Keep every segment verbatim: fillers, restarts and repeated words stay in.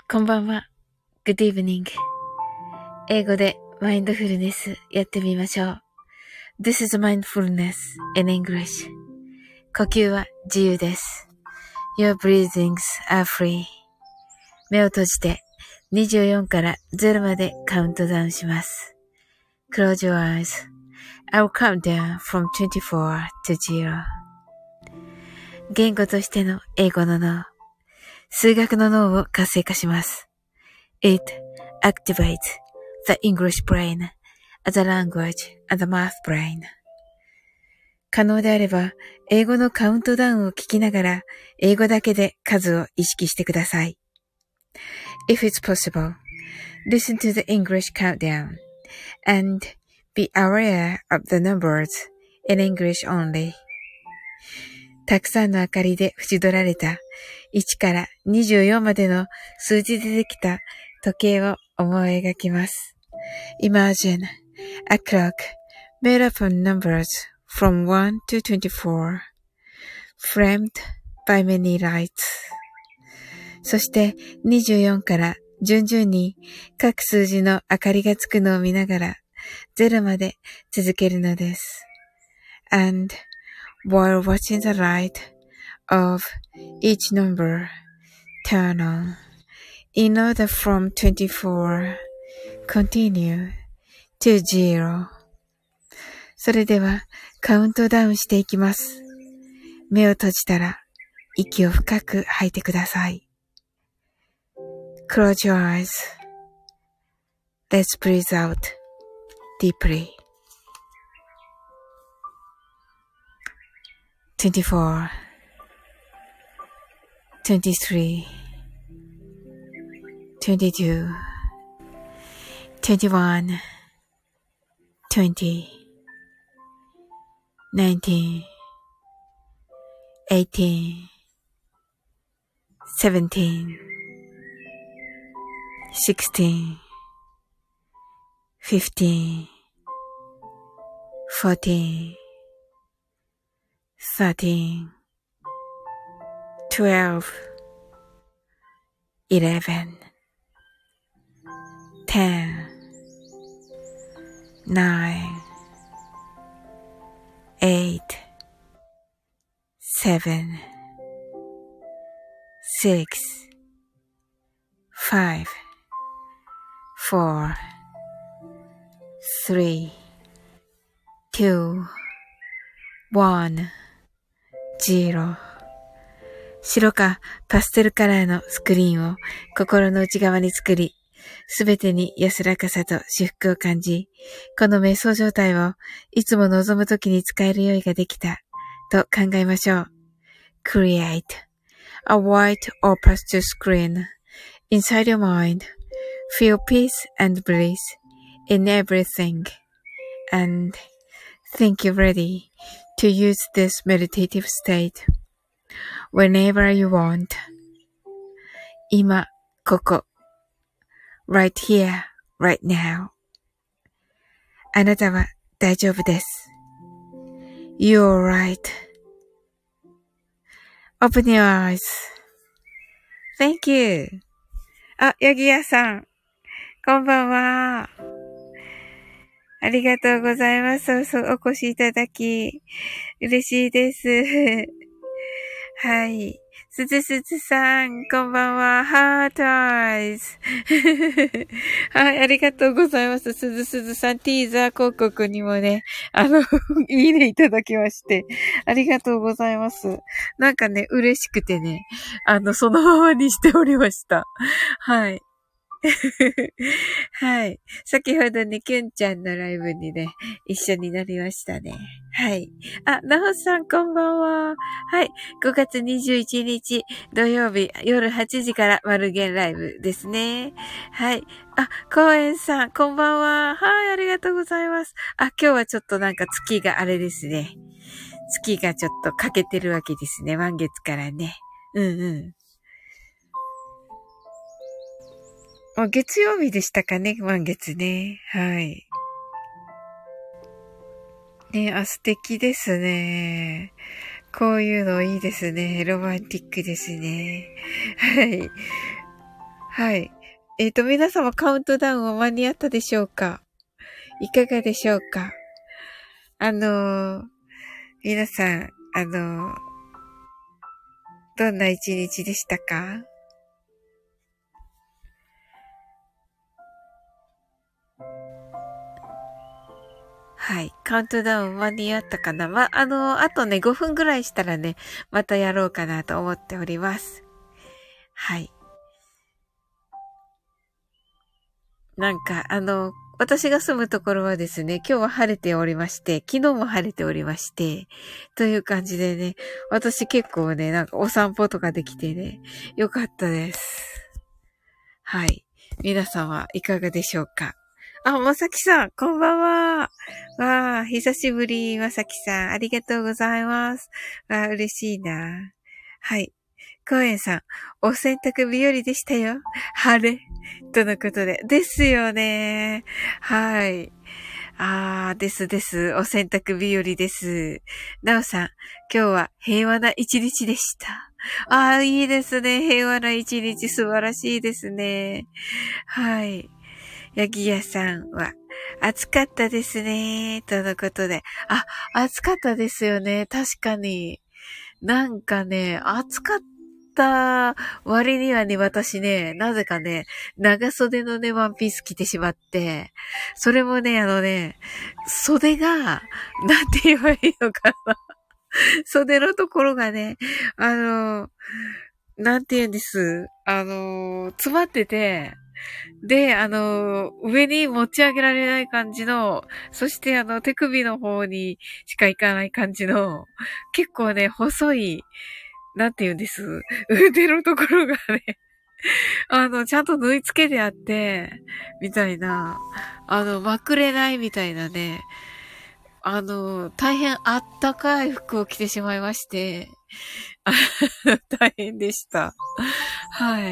こんばんは。Good evening. 英語でマインドフルネスやってみましょう。This is mindfulness in English. 呼吸は自由です。Your breathings are free. 目を閉じてにじゅうよんからゼロまでカウントダウンします。Close your eyes. I'll count down from twenty-four to zero. 言語としての英語の脳。数学の脳を活性化します。It activates the English brain as a language and the math brain. 可能であれば、英語のカウントダウンを聞きながら、英語だけで数を意識してください。If it's possible, listen to the English countdown and be aware of the numbers in English only. たくさんの明かりで縁取られたいちからにじゅうよんまでの数字でできた時計を思い描きます。Imagine a clock made up of numbers from one to twenty-four, framed by many lights. そしてにじゅうよんから順々に各数字の明かりがつくのを見ながらゼロまで続けるのです。And while watching the light of each number turn on, in order from twenty-four, continue to zero. それではカウントダウンしていきます。目を閉じたら息を深く吐いてください。Close your eyes. Let's breathe out deeply. twenty-four, twenty-three, twenty-two, twenty-one, twenty, nineteen, eighteen, seventeen, sixteen, fifteen, fourteen, thirteen, twelve, eleven, ten, nine, eight, seven, six, five, four, three, two, one, zero. 白かパステルカラーのスクリーンを心の内側に作り、すべてに安らかさと至福を感じ、この瞑想状態をいつも望むときに使える用意ができたと考えましょう。Create a white or pastel screen inside your mind. Feel peace and bliss in everything. And think you're ready to use this meditative state.Whenever you want. 今、ここ。Right here, right now. あなたは大丈夫です。You're right. Open your eyes. Thank you. あ、ヤギ屋さん。こんばんは。ありがとうございます。そうそう、お越しいただき。嬉しいです。はい。すずすずさん、こんばんは。ハートアイズ。はい、ありがとうございます。すずすずさん、ティーザー広告にもね、あの、いいねいただきまして。ありがとうございます。なんかね、嬉しくてね、あの、そのままにしておりました。はい。はい。先ほどね、キュンちゃんのライブにね、一緒になりましたね。はい。あ、なほさんこんばんは。はい。ごがつにじゅういちにち土曜日夜はちじから丸源ライブですね。はい。あ、コウエンさんこんばんは。はい、ありがとうございます。あ、今日はちょっとなんか月があれですね。月がちょっと欠けてるわけですね。満月からね。うんうん。月曜日でしたかね、満月ね。はい。ね、あ、素敵ですね。こういうのいいですね。ロマンティックですね。はい。 はい。えっと、皆様カウントダウンは間に合ったでしょうか？いかがでしょうか？あのー、皆さん、あのー、どんな一日でしたか？はい。カウントダウン間に合ったかな？ま、あのー、あとね、ごふんぐらいしたらね、またやろうかなと思っております。はい。なんか、あの、私が住むところはですね、今日は晴れておりまして、昨日も晴れておりまして、という感じでね、私結構ね、なんかお散歩とかできてね、よかったです。はい。皆様、いかがでしょうか？あ、まさきさん、こんばんは。わあ、久しぶり、まさきさん、ありがとうございます。わあ、嬉しいな。はい。コエンさん、お洗濯日和でしたよ。晴れ。とのことで。ですよね。はい。あー、ですです。お洗濯日和です。なおさん、今日は平和な一日でした。あー、いいですね。平和な一日、素晴らしいですね。はい。ヤギ屋さんは、暑かったですね。とのことで。あ、暑かったですよね。確かに。なんかね、暑かった割にはね、私ね、なぜかね、長袖のね、ワンピース着てしまって、それもね、あのね、袖が、なんて言えばいいのかな。袖のところがね、あの、なんて言うんです。あの、詰まってて、で、あの、上に持ち上げられない感じの、そしてあの、手首の方にしか行かない感じの、結構ね、細い、なんて言うんです。腕のところがね、あの、ちゃんと縫い付けてあって、みたいな、あの、まくれないみたいなね、あの、大変あったかい服を着てしまいまして、大変でした。はい。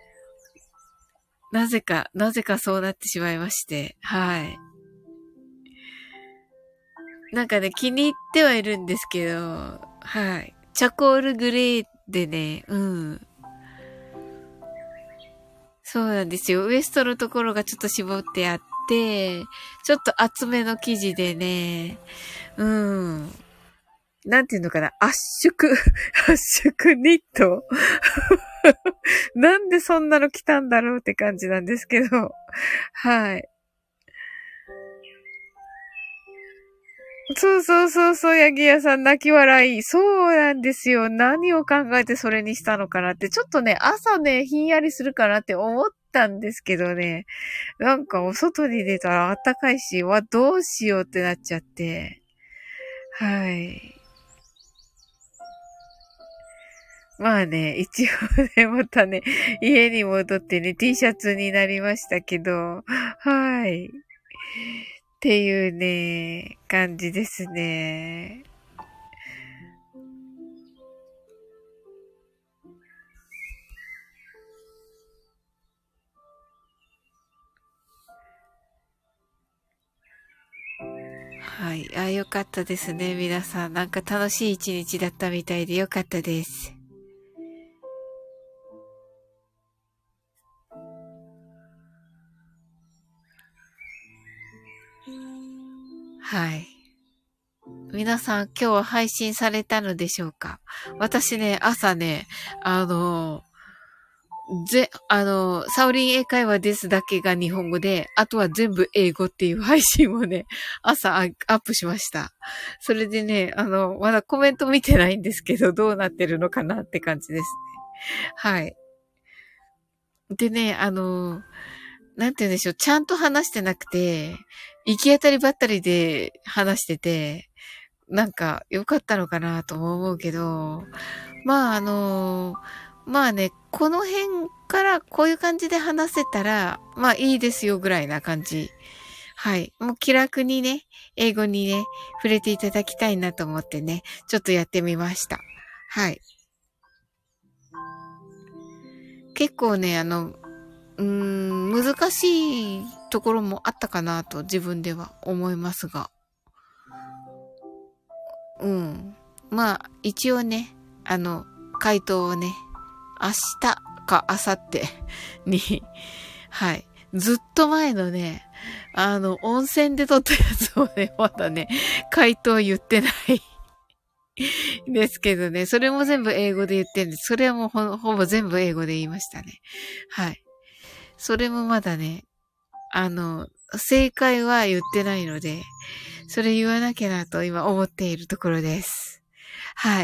なぜか、なぜかそうなってしまいまして、はい。なんかね、気に入ってはいるんですけど、はい。チャコールグレーでね、うん。そうなんですよ。ウエストのところがちょっと絞ってあって、ちょっと厚めの生地でね、うん。なんていうのかな、圧縮、圧縮ニットなんでそんなの来たんだろうって感じなんですけど、はい。そうそうそうそう、ヤギ屋さん泣き笑い。そうなんですよ。何を考えてそれにしたのかなって。ちょっとね、朝ね、ひんやりするかなって思ったんですけどね。なんかお外に出たら暖かいし、わ、どうしようってなっちゃって。はい。まあね、一応ね、またね、家に戻ってね、T シャツになりましたけど、はい。っていうね、感じですね。はい。あ、よかったですね。皆さん。なんか楽しい一日だったみたいでよかったです。はい。皆さん、今日は配信されたのでしょうか？私ね、朝ね、あの、ぜ、あの、サオリン英会話ですだけが日本語で、あとは全部英語っていう配信をね、朝アップしました。それでね、あの、まだコメント見てないんですけど、どうなってるのかなって感じですね。はい。でね、あの、なんて言うんでしょう、ちゃんと話してなくて、行き当たりばったりで話してて、なんか良かったのかなとも思うけど、まああの、まあね、この辺からこういう感じで話せたら、まあいいですよぐらいな感じ。はい。もう気楽にね、英語にね、触れていただきたいなと思ってね、ちょっとやってみました。はい。結構ね、あの、うーん、難しいところもあったかなと自分では思いますが。うん。まあ、一応ね、あの、回答をね、明日か明後日に、はい。ずっと前のね、あの、温泉で撮ったやつをね、まだね、回答言ってないですけどね、それも全部英語で言ってるんです。それはもう ほ, ほぼ全部英語で言いましたね。はい。それもまだね、あの、正解は言ってないので、それ言わなきゃなと今思っているところです。はい。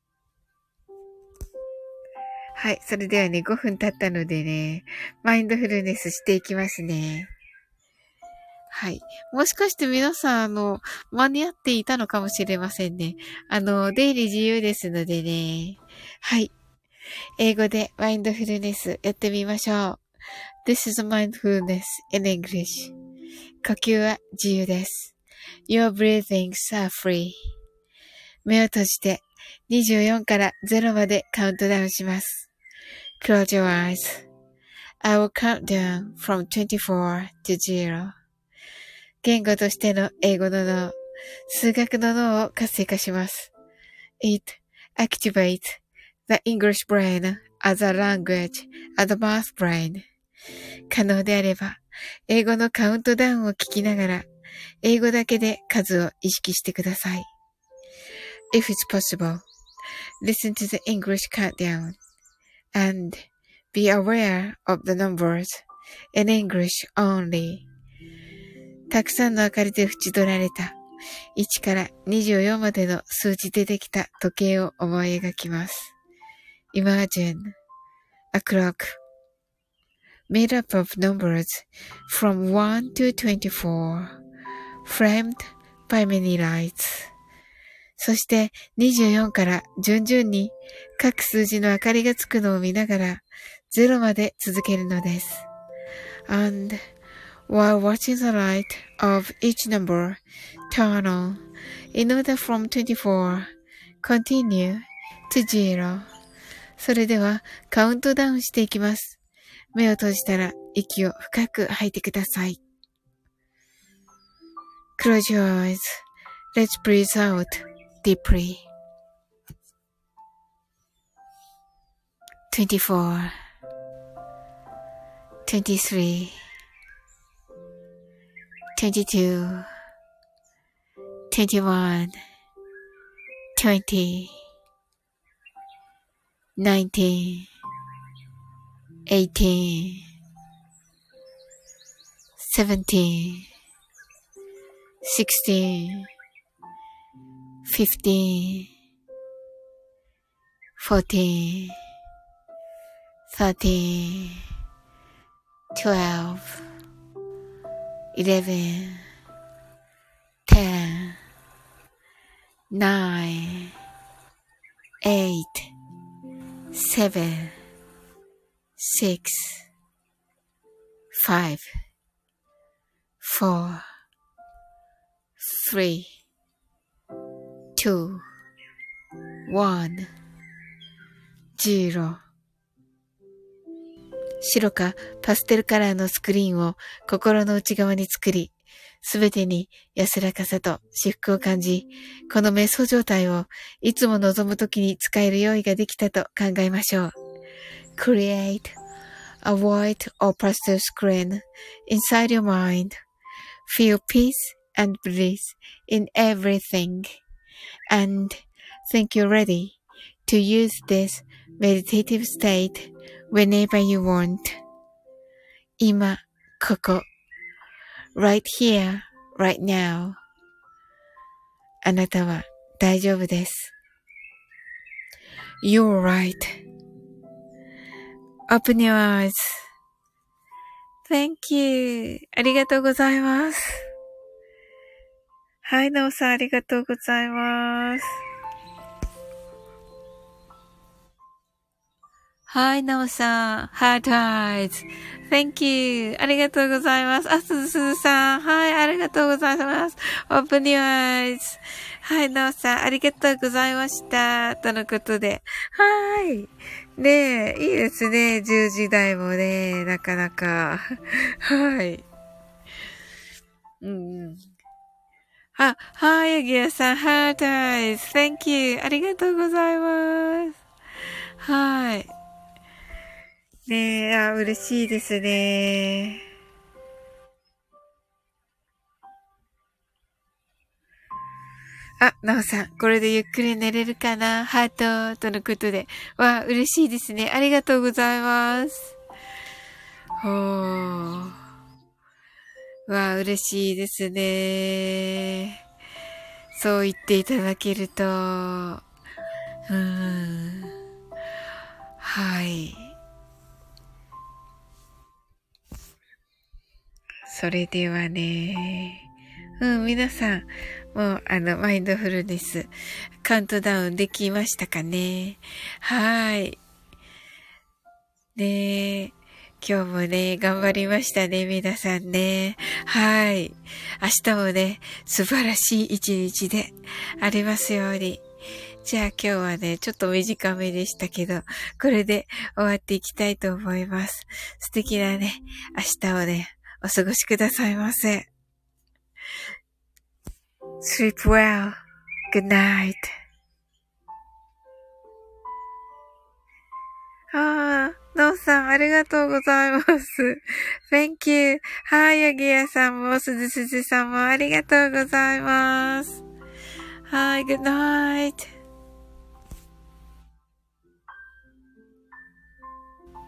はい。それではね、ごふん経ったのでね、マインドフルネスしていきますね。はい。もしかして皆さん、あの、間に合っていたのかもしれませんね。あの、出入り自由ですのでね。はい。英語でマインドフルネスやってみましょう。This is mindfulness in English. 呼吸は自由です。Your breathings are free. 目を閉じてにじゅうよんからゼロまでカウントダウンします。Close your eyes. I will count down from twenty-four to zero. 言語としての英語の脳、数学の脳を活性化します。It activates the English brain as a language and the math brain. 可能であれば、英語のカウントダウンを聞きながら、英語だけで数を意識してください。If it's possible, listen to the English countdown and be aware of the numbers in English only. たくさんの明かりで縁取られたいちからにじゅうよんまでの数字でできた時計を思い描きます。Imagine a clock made up of numbers from one to twenty-four, framed by many lights. そしてにじゅうよんから順々に各数字の明かりがつくのを見ながらゼロまで続けるのです。And while watching the light of each number turn on in order from twenty-four, continue to zero. それではカウントダウンしていきます。目を閉じたら息を深く吐いてください。Close your eyes. Let's breathe out deeply. twenty-four, twenty-three, twenty-two, twenty-one, twenty, nineteen, eighteen, seventeen, sixteen, fifteen, fourteen, thirteen, twelve, eleven, ten, nine, eight, seven, six, five, four, three, two, one, zero. 白かパステルカラーのスクリーンを心の内側に作り、すべてに安らかさと至福を感じ、この瞑想状態をいつも望むときに使える用意ができたと考えましょう。Create a white or pastel screen inside your mind. Feel peace and bliss in everything. And think you're ready to use this meditative state whenever you want. 今、ここ。right here, right now. あなたは大丈夫です。You're right.Open your eyes. Thank you. ありがとうございます。はい、なおさんありがとうございます。はい、なおさん。Heart eyes.Thank you. ありがとうございます。あ、すずすずさん。はい、ありがとうございます。Open your eyes. はい、なおさん、ありがとうございました。とのことで。はい。ねえ、いいですね。じゅうじ台もね、なかなか。はい。うんうん。あ、はい、ヤギヤさん、ハートアイズ。Thank you. ありがとうございます。はい。 ねえ、あ、嬉しいですね。あ、なおさん、これでゆっくり寝れるかなハートとのことで。わ、嬉しいですね。ありがとうございます。ほー。わ、嬉しいですね。そう言っていただけると。うーん。はい。それではね。うん、皆さん、もう、あの、マインドフルネス、カウントダウンできましたかね。はい。ねえ。今日もね、頑張りましたね、皆さんね。はい。明日もね、素晴らしい一日でありますように。じゃあ今日はね、ちょっと短めでしたけど、これで終わっていきたいと思います。素敵なね、明日をね、お過ごしくださいませ。Sleep well. Good night. ああ、のんさん、ありがとうございます。Thank you. はい、ヤギヤさんも、すずすずさんもありがとうございます。はい、Good night.